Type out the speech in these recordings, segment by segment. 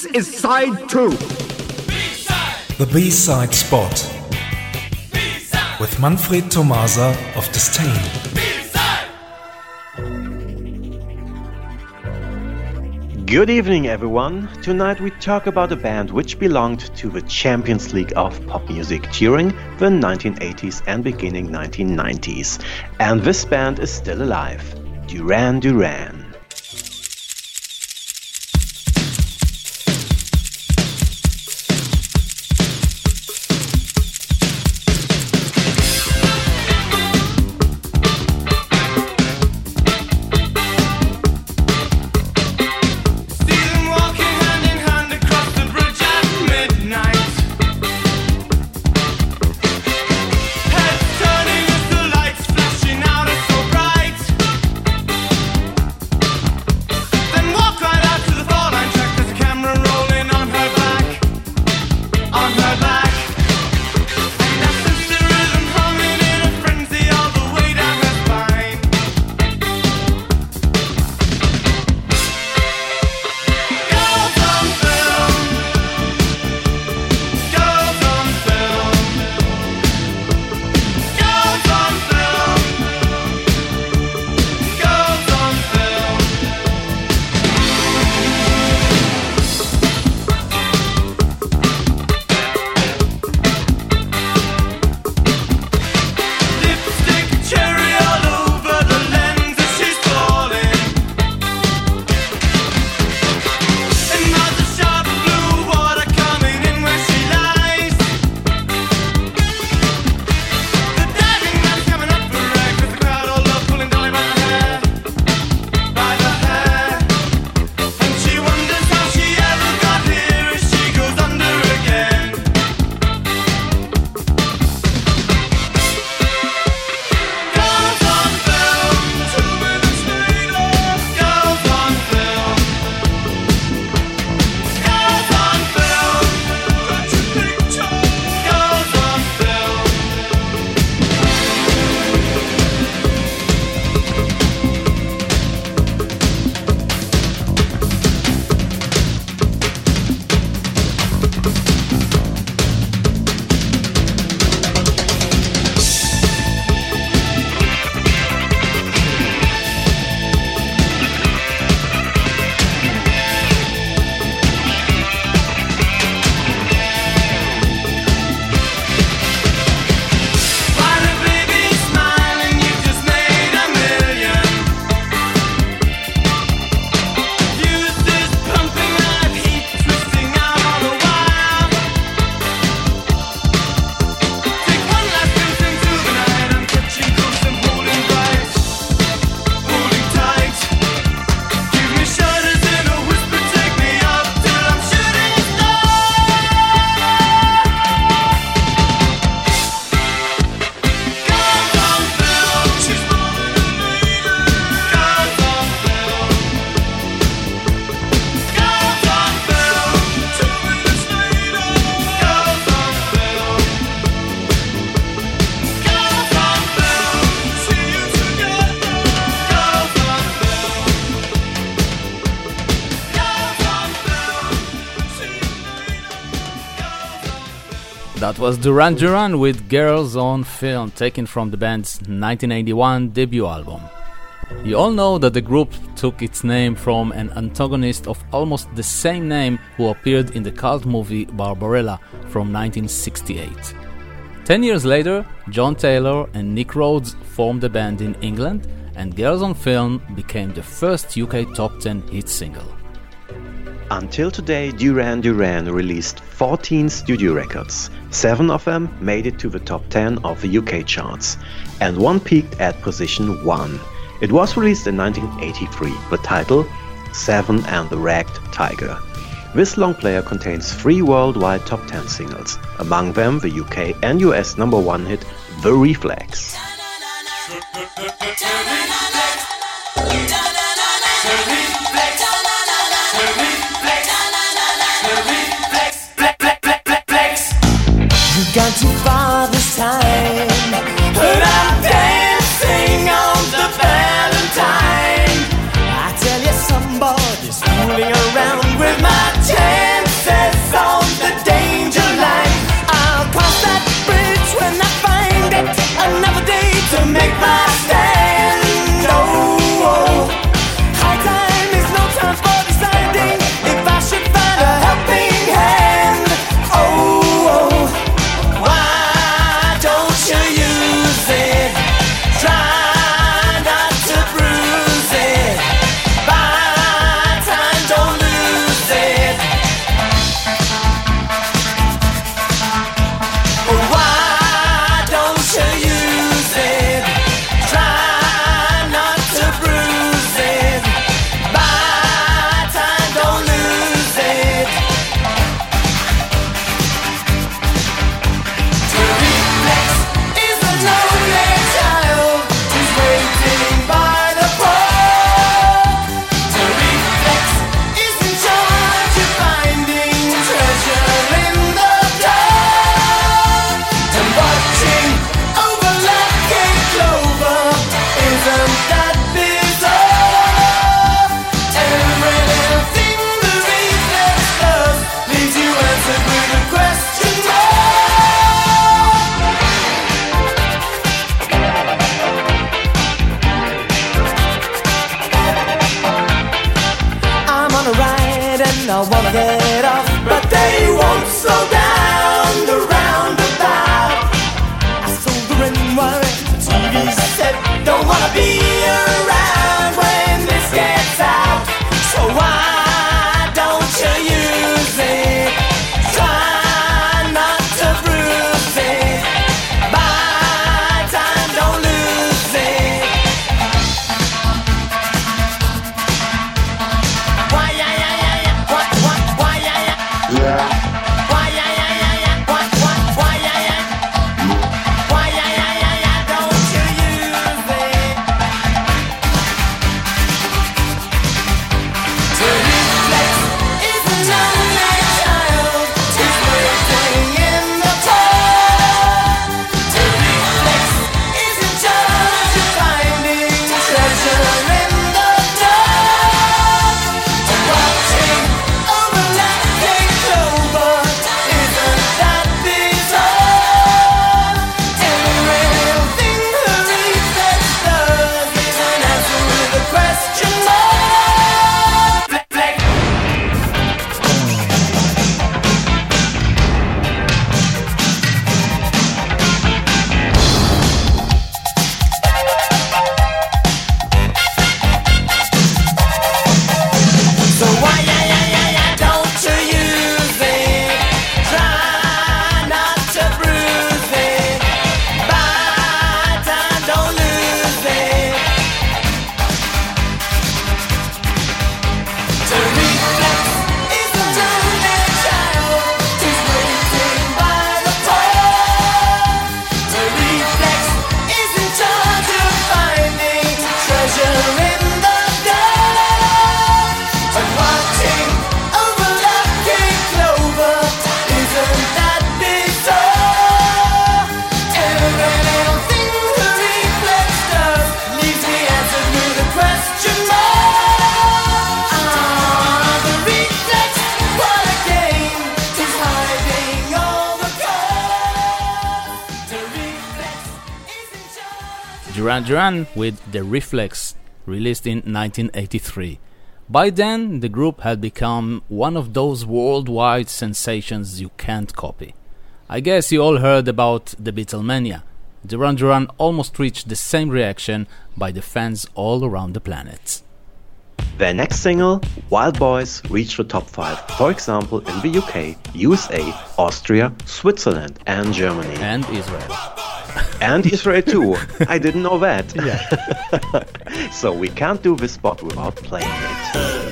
This is side 2. B-side. The B-side spot. B-side. With Manfred Tomasa of Disdain. Good evening, everyone. Tonight we talk about a band which belonged to the Champions League of pop music during the 1980s and beginning 1990s. And this band is still alive. Duran Duran. That was Duran Duran with Girls on Film, taken from the band's 1981 debut album. You all know that the group took its name from an antagonist of almost the same name who appeared in the cult movie Barbarella from 1968. 10 years later, John Taylor and Nick Rhodes formed the band in England, and Girls on Film became the first UK top 10 hit single. Until today, Duran Duran released 14 studio records. 7 of them made it to the top 10 of the UK charts, and one peaked at position 1. It was released in 1983, the title Seven and the Ragged Tiger. This long player contains 3 worldwide top 10 singles, among them the UK and US number 1 hit The Reflex. Gone too far this time, but I'm dancing on the Valentine. I tell you, somebody's fooling around with my tail. get off, but they won't slow down the roundabout. I sold the ring wire, the TV set, don't wanna be around when this gets out. So why don't you use it? Try not to bruise it. Buy time, don't lose it. Why yeah yeah yeah yeah? What why yeah yeah? Why yeah yeah yeah yeah? What why yeah yeah? Why yeah yeah yeah yeah? Don't you use it? To reflex isn't only child, it's waiting in the cold. To reflex isn't just finding treasure in the dark. To watching overlapping clover isn't that bizarre. Everything the reflex does is an answer with a question mark. Flex. So why yeah yeah yeah yeah? Don't you use it? Try not to bruise it. Buy time, don't lose it. To reflex isn't only child, it's waiting by the pole. To reflex isn't charge of finding treasure in the dark. But watching overlapping clover isn't that bizarre. Every little thing the reflex does leaves me answered with a question mark. The reflex, what a game, is hiding all the cards. The reflex isn't just. Duran Duran with The Reflex, released in 1983. By then, the group had become one of those worldwide sensations you can't copy. I guess you all heard about the Beatlemania. Duran Duran almost reached the same reaction by the fans all around the planet. Their next single, Wild Boys, reached the top 5, for example in the UK, USA, Austria, Switzerland and Germany. And Israel. And Israel too. I didn't know that. So we can't do this spot without playing it.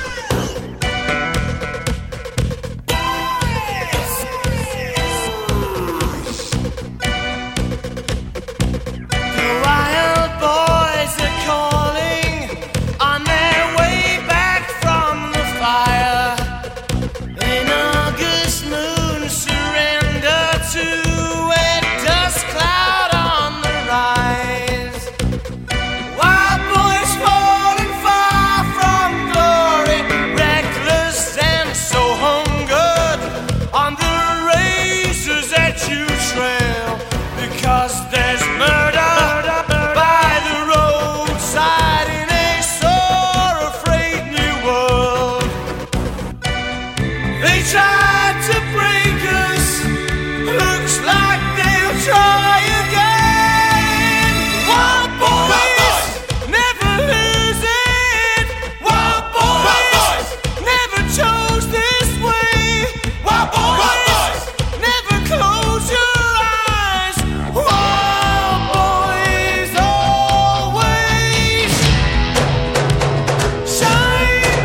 The wild boys are calling on their way back from the fire. An August moon surrender to a dust cloud on the rise. Wild boys falling far from glory, reckless and so hungered on the razors that you trail. Because there's murder by the roadside in a sore afraid new world. They tried to break us, looks like they'll try again. Wild boys never lose it. Wild boys never chose this way. Wild boys never close your eyes. Wild boys always shine.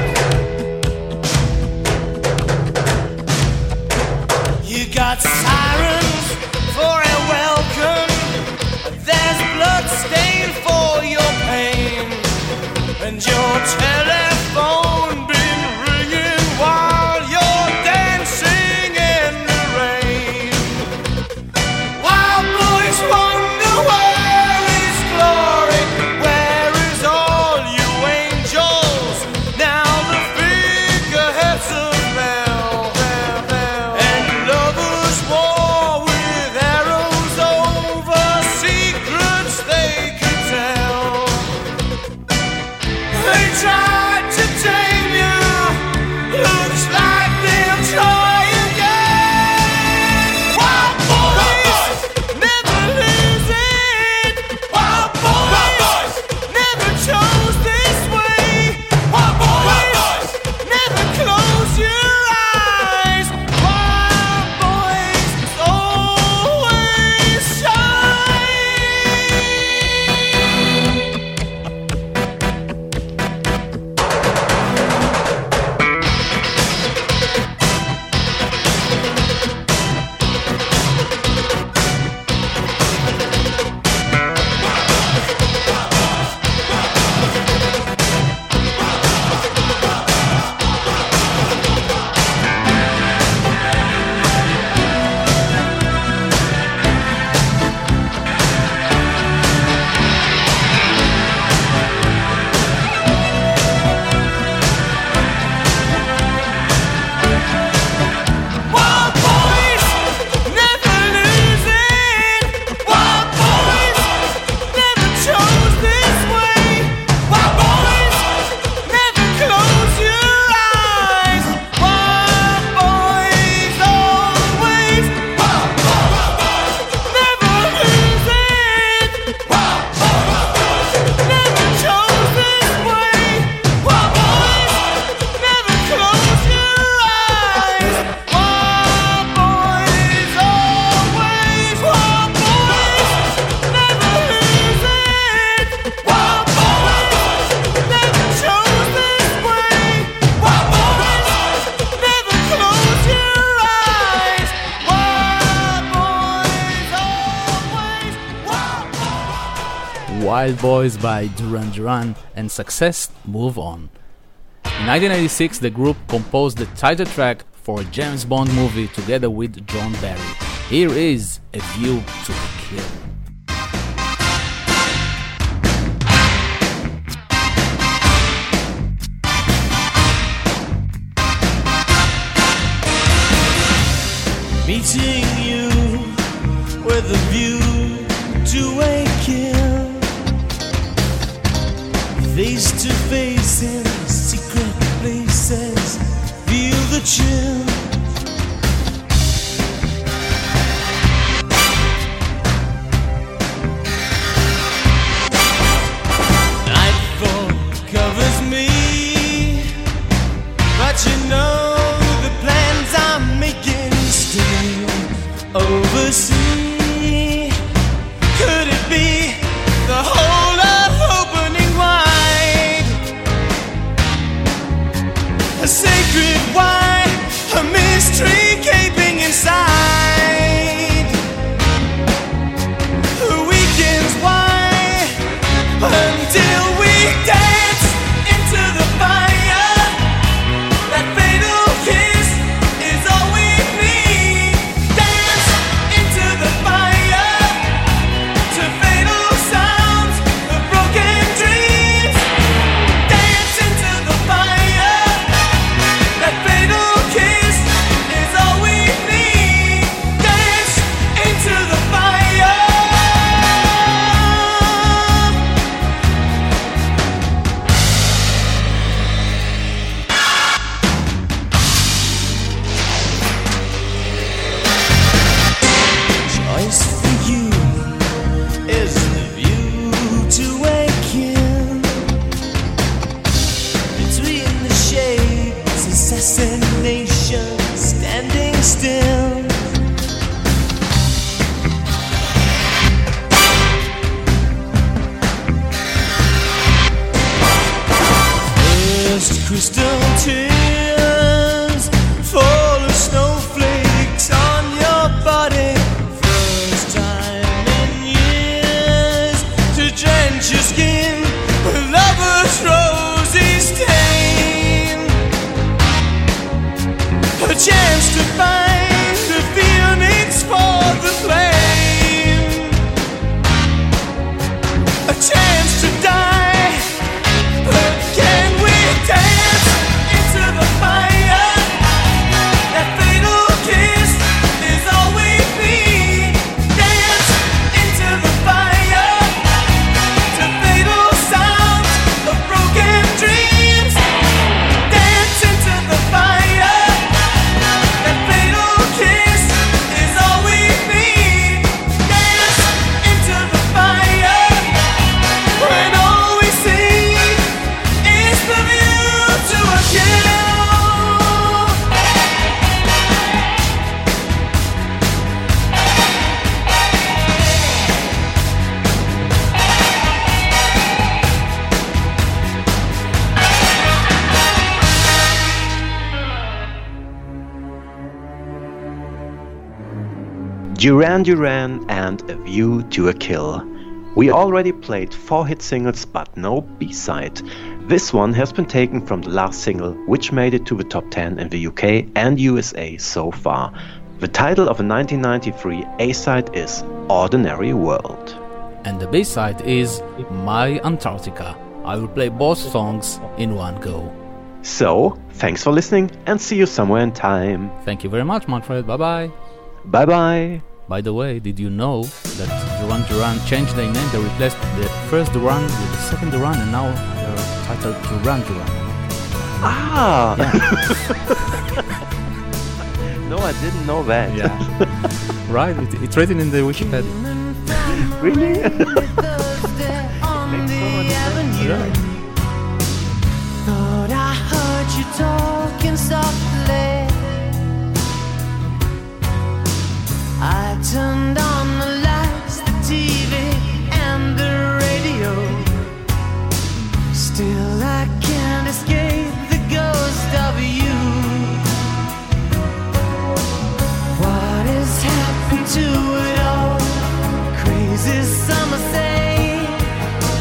You got sirens for a welcome. There's blood stain for your pain, and your telephone been ringing while you're dancing in the rain. Wild boys wonder where is glory, where is all you angels? Now the figureheads of hell, and lovers walk Wild Boys by Duran Duran and Success Move On. In 1986, the group composed the title track for a James Bond movie together with John Barry. Here is A View to a Kill. Meeting you with a view to a kill, face to face in secret places, feel the chill. Nightfall covers me, but you know the plans I'm making still oversee. Could it be the whole of opening wide? A sacred wine, a mystery gaping inside. The weekend's wine until we dance into the fire. That fatal kiss is all we need. Dance into the fire to fatal sounds of broken dreams. Dance into the fire. That fatal kiss is all we need. Dance into the fire. Choice for you is the view to a kill. Between the shades, assassination standing still. First crystal tears fall as snowflakes on your body. First time in years to drench your skin with lover's rosy stain. A chance to find the phoenix for the flame. A chance to die, but can we dance into the fire? That fatal kiss is all we need. Dance into the fire to fatal sounds of broken dreams. Dance into the fire. That fatal kiss is all we need. Dance into the fire when all we see is the view to a kill. Duran Duran and A View to a Kill. We already played 4 hit singles but no B-side. This one has been taken from the last single, which made it to the top 10 in the UK and USA so far. The title of a 1993 A-side is Ordinary World. And the B-side is My Antarctica. I will play both songs in one go. So, thanks for listening and see you somewhere in time. Thank you very much, Manfred. Bye-bye. Bye bye. By the way, did you know that Duran Duran changed their name? They replaced the first Duran with the second Duran, and now they're titled Duran Duran. Ah! Yeah. No, I didn't know that. Yeah. Right? It's written in the Wikipedia. Really? Right. Thought I heard you talking softly. I turned on the lights, the TV, and the radio. Still I can't escape the ghost of you. What has happened to it all? Crazy summer say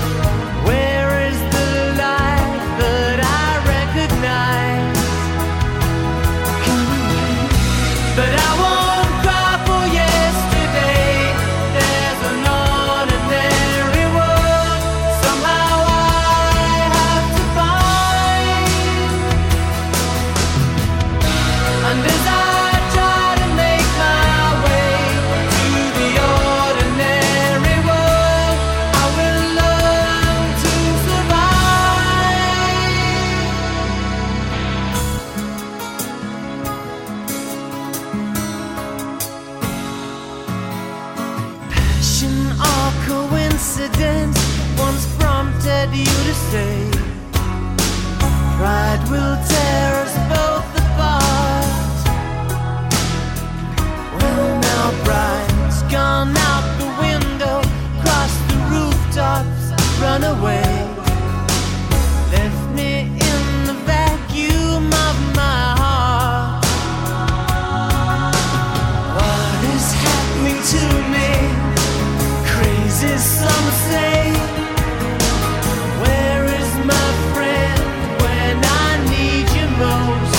say pride will tear us both apart. Well, now pride's gone out the window, cross the rooftops, run away, left me in the vacuum of my heart. What is happening to me? Crazy, some say. Where is my friend when I need you most?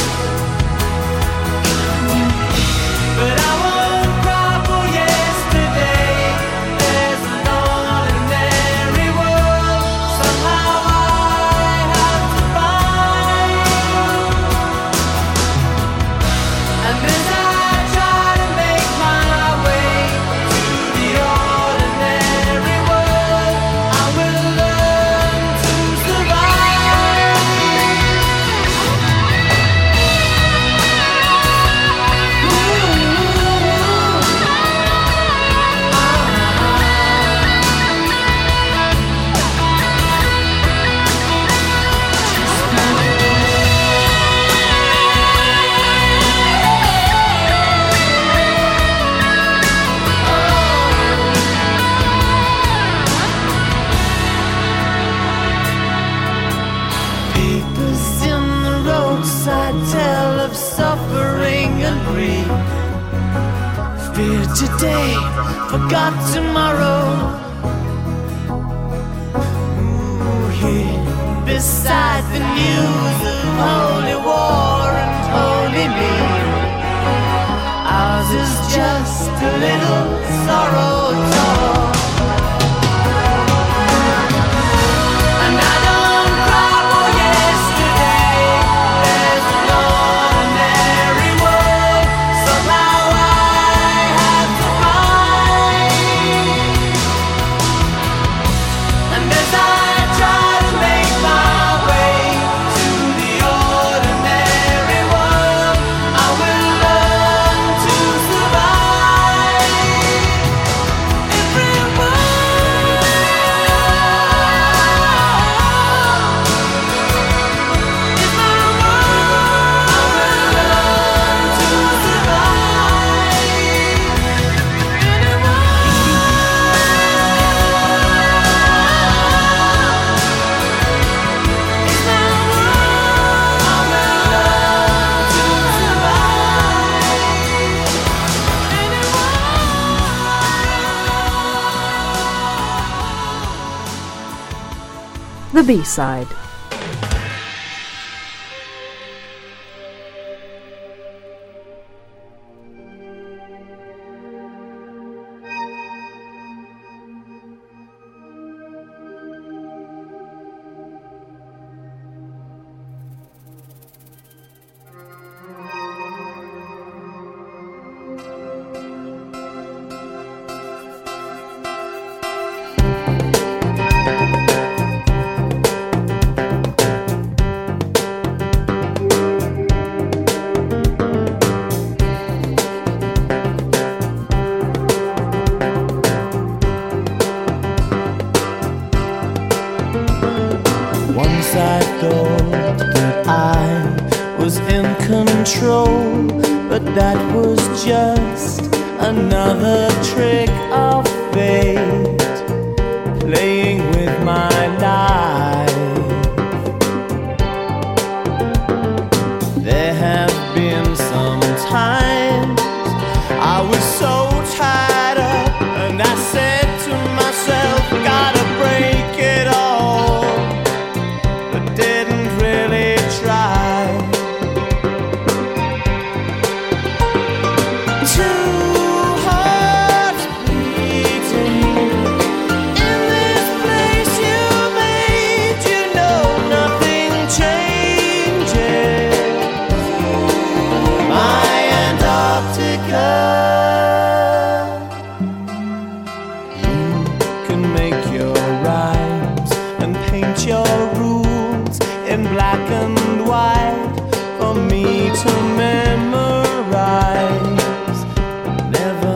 But I won't cry for yesterday. There's an ordinary world somehow I have to find. And as I try to make my way to the ordinary world, I will learn to survive. Papers in the roadside tell of suffering and grief. Fear today, forgot tomorrow. Ooh, here beside the news of holy war and holy me, ours is just a little sorrow talk. And I don't cry for yesterday. There's an ordinary world somehow I have to find. And as I try to make my way to the ordinary world, I will learn to survive. The B-side. Once I thought that I was in control, but that was just another trick of fate, playing with my life. There have been some times I was so tied up, and I said to myself, gotta break it all, but didn't really try. Two hearts beating in this place you made, you know nothing changes. My Antarctica. You can make your rhymes and paint your rules in black and white for me to memorize, never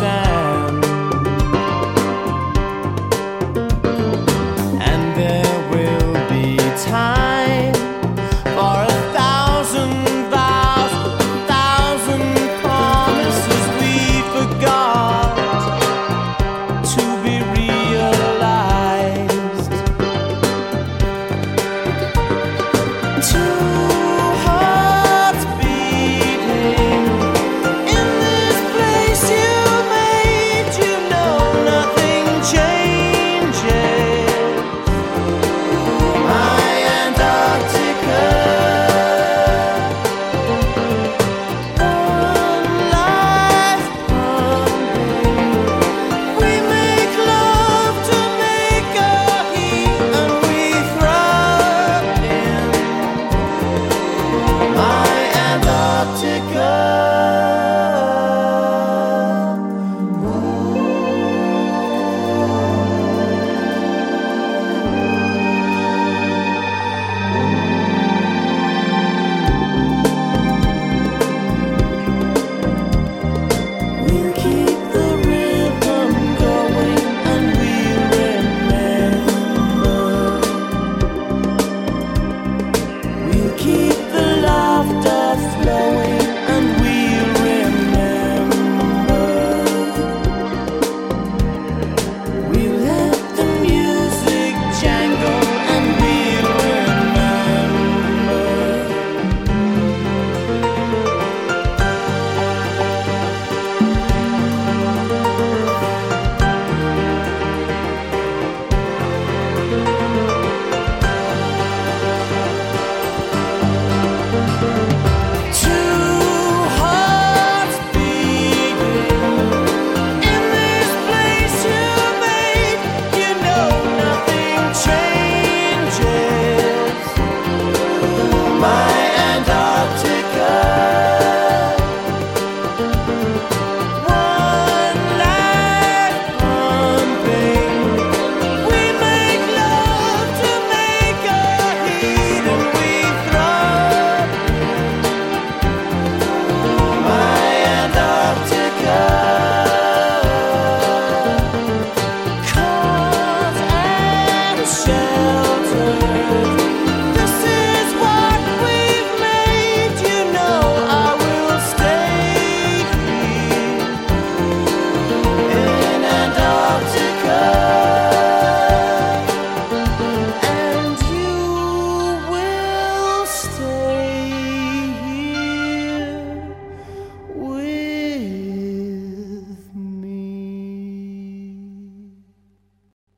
understand. And there love.